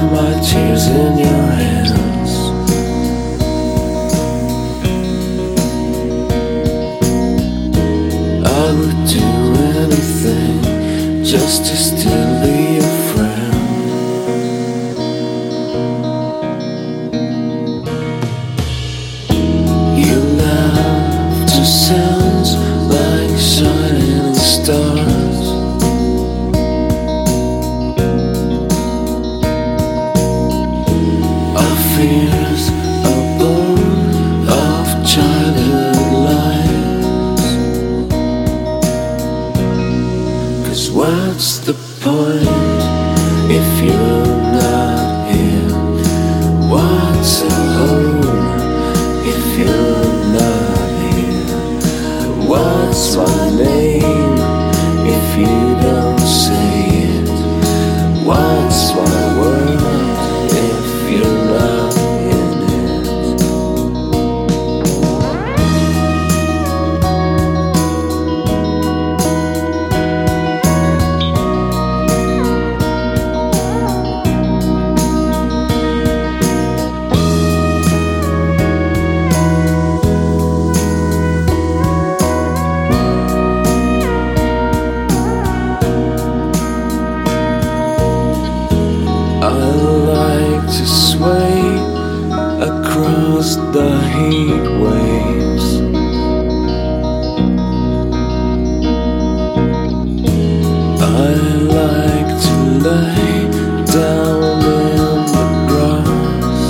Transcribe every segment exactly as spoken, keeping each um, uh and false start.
my tears in your hands. I would do anything just to still be your friend. Your laughter sounds like shining stars. Our fears are born of childhood lies. 'Cause what's the point if you're not here? What's a home if you're not here? What's my name if you don't say it? What's my world if you're not in it? I like to sway across the heat waves. I like to lay down in the grass.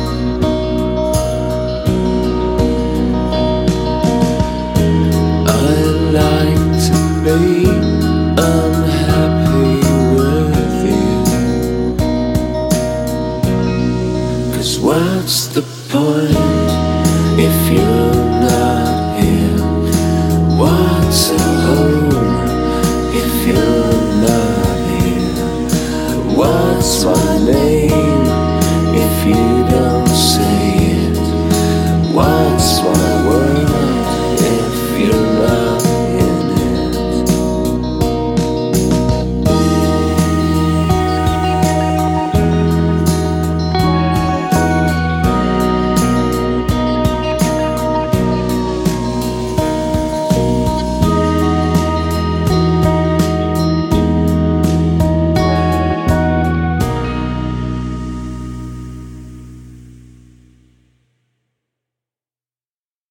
I like to be unhappy with you. 'Cause what's the point if you're not here? What's a home if you're not here? What's my name